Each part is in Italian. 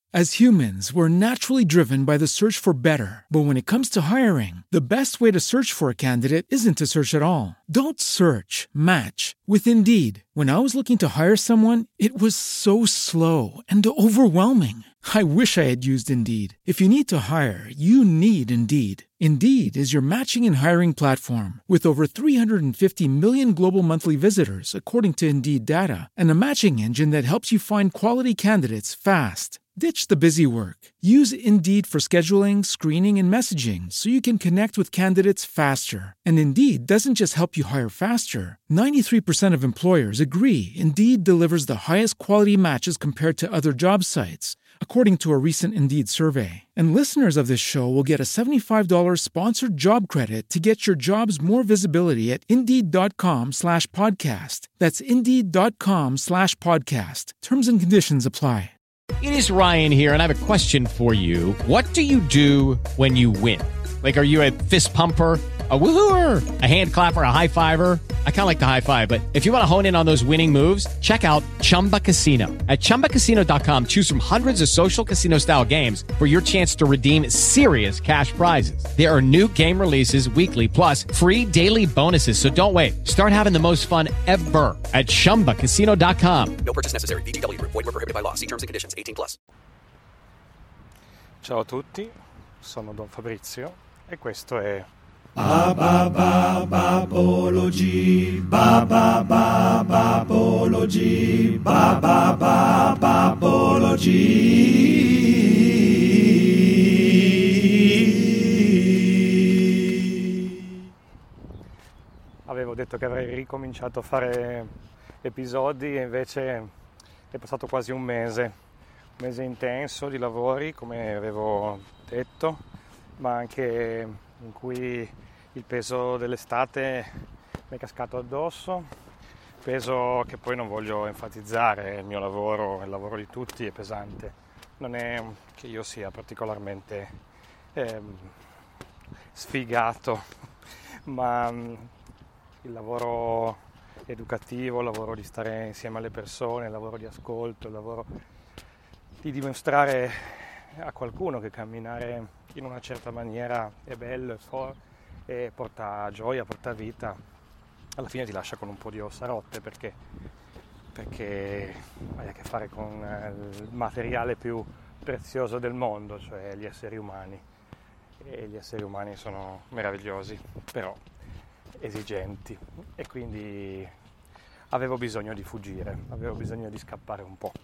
As humans, we're naturally driven by the search for better. But when it comes to hiring, the best way to search for a candidate isn't to search at all. Don't search, match with Indeed. When I was looking to hire someone, it was so slow and overwhelming. I wish I had used Indeed. If you need to hire, you need Indeed. Indeed is your matching and hiring platform with over 350 million global monthly visitors, according to Indeed data, and a matching engine that helps you find quality candidates fast. Ditch the busy work. Use Indeed for scheduling, screening, and messaging so you can connect with candidates faster. And Indeed doesn't just help you hire faster. 93% of employers agree Indeed delivers the highest quality matches compared to other job sites, according to a recent Indeed survey. And listeners of this show will get a $75 sponsored job credit to get your jobs more visibility at Indeed.com/podcast. That's Indeed.com/podcast. Terms and conditions apply. It is Ryan here, and I have a question for you. What do you do when you win? Like, are you a fist pumper, a woohooer, a hand clapper, a high fiver? I kind of like the high five, but if you want to hone in on those winning moves, check out Chumba Casino. At ChumbaCasino.com, choose from hundreds of social casino-style games for your chance to redeem serious cash prizes. There are new game releases weekly, plus free daily bonuses, so don't wait. Start having the most fun ever at ChumbaCasino.com. No purchase necessary. VGW. Void where prohibited by law. See terms and conditions. 18+. Ciao a tutti, sono Don Fabrizio e questo è Babology, Babology, Babology. Avevo detto che avrei ricominciato a fare episodi e invece è passato quasi un mese intenso di lavori, come avevo detto, ma anche in cui il peso dell'estate mi è cascato addosso, peso che poi non voglio enfatizzare. Il mio lavoro, il lavoro di tutti è pesante, non è che io sia particolarmente sfigato, ma il lavoro educativo, il lavoro di stare insieme alle persone, il lavoro di ascolto, il lavoro di dimostrare a qualcuno che camminare in una certa maniera è bello e porta gioia, porta vita, alla fine ti lascia con un po' di ossa rotte perché hai a che fare con il materiale più prezioso del mondo, cioè gli esseri umani, e gli esseri umani sono meravigliosi, però esigenti, e quindi avevo bisogno di fuggire, avevo bisogno di scappare un po'.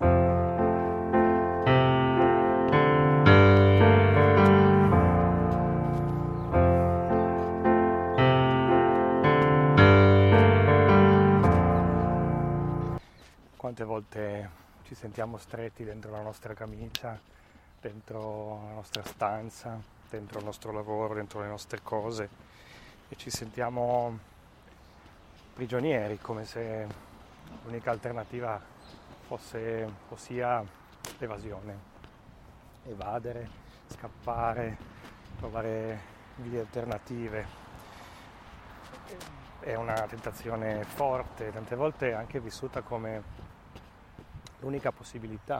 Quante volte ci sentiamo stretti dentro la nostra camicia, dentro la nostra stanza, dentro il nostro lavoro, dentro le nostre cose, e ci sentiamo prigionieri, come se l'unica alternativa sia l'evasione, evadere, scappare, trovare vie alternative. È una tentazione forte, tante volte anche vissuta come l'unica possibilità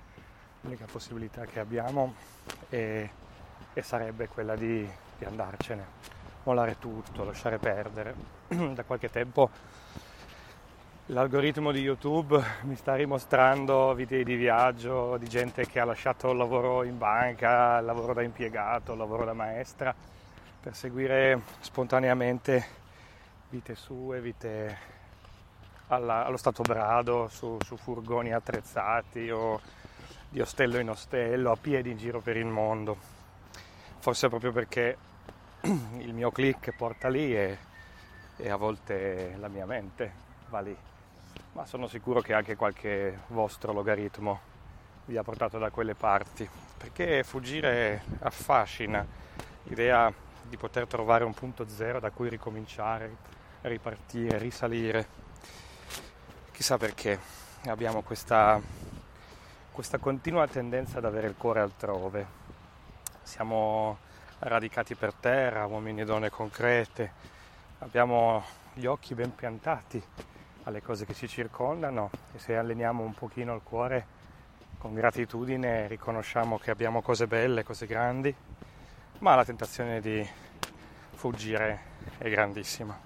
che abbiamo, e sarebbe quella di andarcene, mollare tutto, lasciare perdere. Da qualche tempo l'algoritmo di YouTube mi sta rimostrando video di viaggio di gente che ha lasciato il lavoro in banca, il lavoro da impiegato, il lavoro da maestra, per seguire spontaneamente vite sue, vite allo stato brado, su furgoni attrezzati o di ostello in ostello, a piedi in giro per il mondo. Forse proprio perché il mio click porta lì e a volte la mia mente va lì. Ma sono sicuro che anche qualche vostro logaritmo vi ha portato da quelle parti, perché fuggire affascina, l'idea di poter trovare un punto zero da cui ricominciare, ripartire, risalire. Chissà perché abbiamo questa continua tendenza ad avere il cuore altrove. Siamo radicati per terra, uomini e donne concrete, abbiamo gli occhi ben piantati alle cose che ci circondano, e se alleniamo un pochino il cuore con gratitudine riconosciamo che abbiamo cose belle, cose grandi, ma la tentazione di fuggire è grandissima.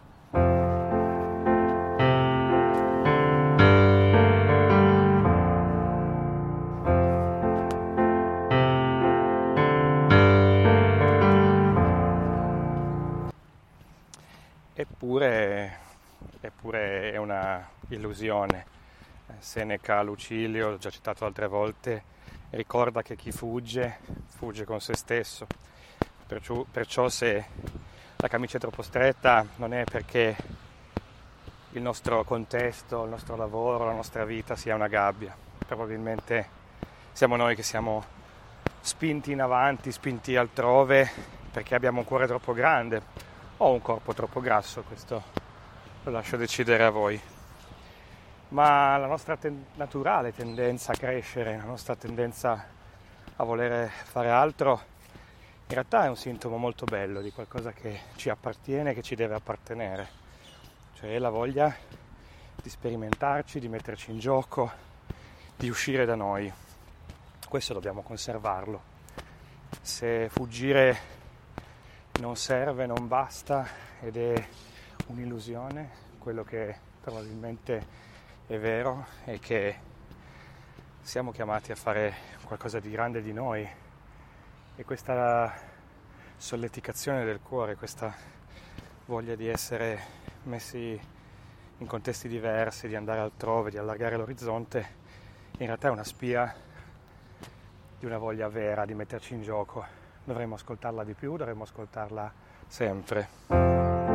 Eppure è una illusione. Seneca, Lucilio, l'ho già citato altre volte, ricorda che chi fugge con se stesso. Perciò se la camicia è troppo stretta non è perché il nostro contesto, il nostro lavoro, la nostra vita sia una gabbia. Probabilmente siamo noi che siamo spinti in avanti, spinti altrove, perché abbiamo un cuore troppo grande o un corpo troppo grasso, questo lo lascio decidere a voi. Ma la nostra naturale tendenza a crescere, la nostra tendenza a voler fare altro, in realtà è un sintomo molto bello di qualcosa che ci appartiene, che ci deve appartenere. Cioè la voglia di sperimentarci, di metterci in gioco, di uscire da noi. Questo dobbiamo conservarlo. Se fuggire non serve, non basta ed è un'illusione, quello che probabilmente è vero è che siamo chiamati a fare qualcosa di grande di noi, e questa solleticazione del cuore, questa voglia di essere messi in contesti diversi, di andare altrove, di allargare l'orizzonte, in realtà è una spia di una voglia vera di metterci in gioco. Dovremmo ascoltarla di più, dovremmo ascoltarla sempre.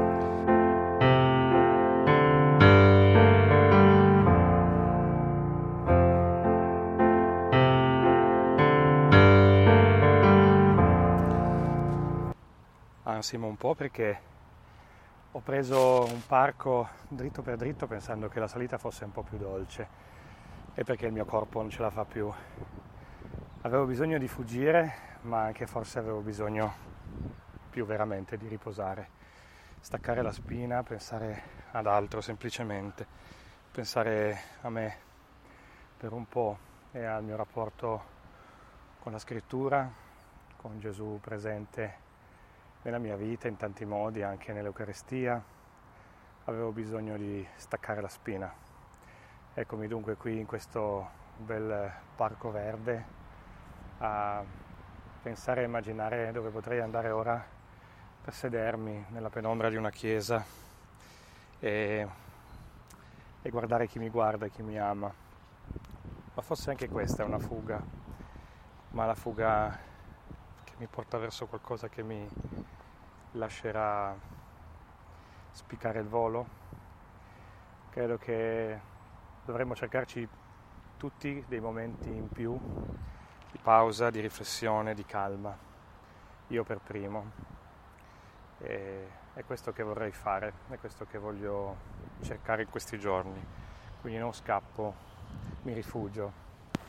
Ansimo un po' perché ho preso un parco dritto per dritto pensando che la salita fosse un po' più dolce e perché il mio corpo non ce la fa più. Avevo bisogno di fuggire, ma anche forse avevo bisogno più veramente di riposare, staccare la spina, pensare ad altro semplicemente, pensare a me per un po' e al mio rapporto con la scrittura, con Gesù presente nella mia vita in tanti modi, anche nell'Eucaristia. Avevo bisogno di staccare la spina. Eccomi dunque qui in questo bel parco verde a pensare e immaginare dove potrei andare ora per sedermi nella penombra di una chiesa e guardare chi mi guarda e chi mi ama. Ma forse anche questa è una fuga, ma la fuga che mi porta verso qualcosa che mi lascerà spiccare il volo. Credo che dovremmo cercarci tutti dei momenti in più di pausa, di riflessione, di calma, io per primo. E è questo che vorrei fare, è questo che voglio cercare in questi giorni. Quindi non scappo, mi rifugio.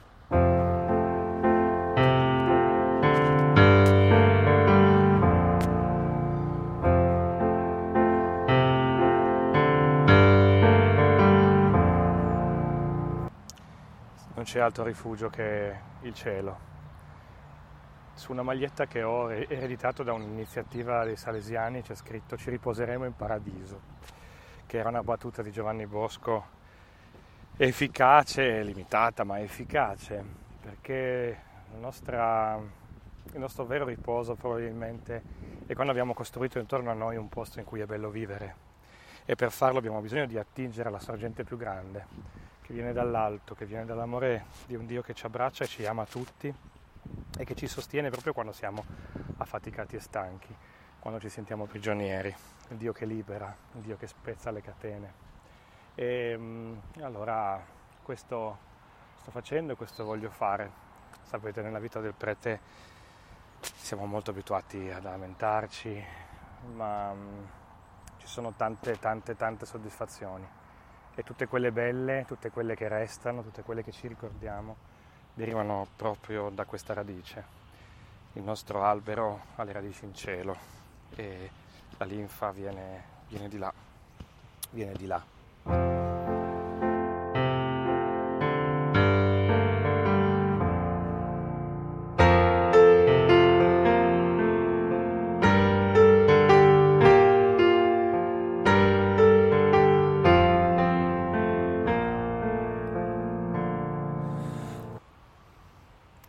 Non c'è altro rifugio che il cielo. Su una maglietta che ho ereditato da un'iniziativa dei Salesiani c'è scritto "Ci riposeremo in paradiso", che era una battuta di Giovanni Bosco efficace, limitata ma efficace, perché il nostro vero riposo probabilmente è quando abbiamo costruito intorno a noi un posto in cui è bello vivere, e per farlo abbiamo bisogno di attingere alla sorgente più grande, che viene dall'alto, che viene dall'amore di un Dio che ci abbraccia e ci ama tutti e che ci sostiene proprio quando siamo affaticati e stanchi, quando ci sentiamo prigionieri, il Dio che libera, il Dio che spezza le catene. E allora questo sto facendo e questo voglio fare. Sapete, nella vita del prete siamo molto abituati ad lamentarci, ma ci sono tante soddisfazioni, e tutte quelle belle, tutte quelle che restano, tutte quelle che ci ricordiamo derivano proprio da questa radice. Il nostro albero ha le radici in cielo e la linfa viene di là, viene di là.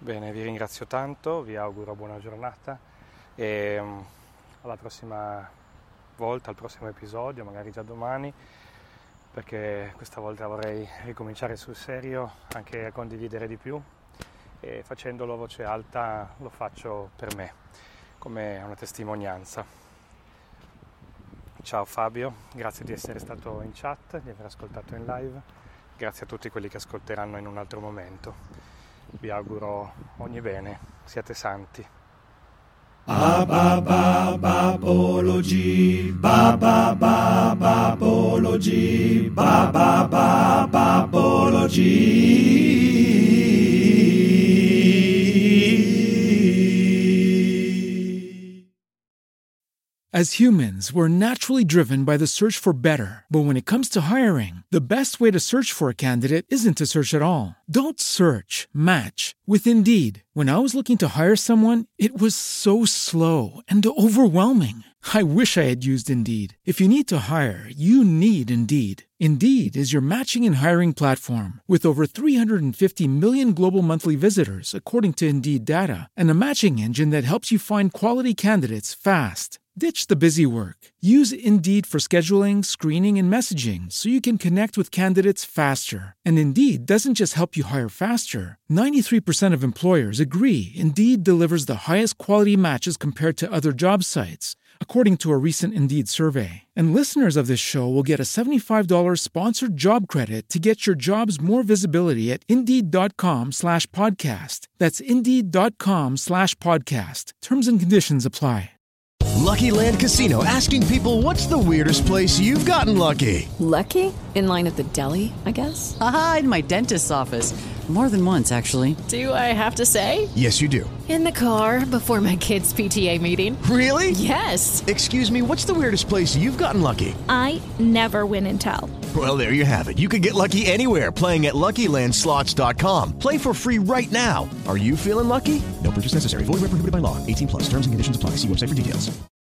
Bene, vi ringrazio tanto, vi auguro buona giornata e alla prossima volta, al prossimo episodio, magari già domani, perché questa volta vorrei ricominciare sul serio, anche a condividere di più, e facendolo a voce alta lo faccio per me, come una testimonianza. Ciao Fabio, grazie di essere stato in chat, di aver ascoltato in live, grazie a tutti quelli che ascolteranno in un altro momento. Vi auguro ogni bene, siate santi. Babology, babology, babology. As humans, we're naturally driven by the search for better. But when it comes to hiring, the best way to search for a candidate isn't to search at all. Don't search, match with Indeed. When I was looking to hire someone, it was so slow and overwhelming. I wish I had used Indeed. If you need to hire, you need Indeed. Indeed is your matching and hiring platform with over 350 million global monthly visitors, according to Indeed data, and a matching engine that helps you find quality candidates fast. Ditch the busy work. Use Indeed for scheduling, screening, and messaging so you can connect with candidates faster. And Indeed doesn't just help you hire faster. 93% of employers agree Indeed delivers the highest quality matches compared to other job sites, according to a recent Indeed survey. And listeners of this show will get a $75 sponsored job credit to get your jobs more visibility at Indeed.com/podcast. That's Indeed.com/podcast. Terms and conditions apply. Lucky Land Casino, asking people, what's the weirdest place you've gotten lucky? Lucky? In line at the deli, I guess? Aha, in my dentist's office. More than once, actually. Do I have to say? Yes, you do. In the car before my kids' PTA meeting. Really? Yes. Excuse me, what's the weirdest place you've gotten lucky? I never win and tell. Well, there you have it. You can get lucky anywhere, playing at LuckyLandSlots.com. Play for free right now. Are you feeling lucky? No purchase necessary. Void where prohibited by law. 18+. Terms and conditions apply. See website for details.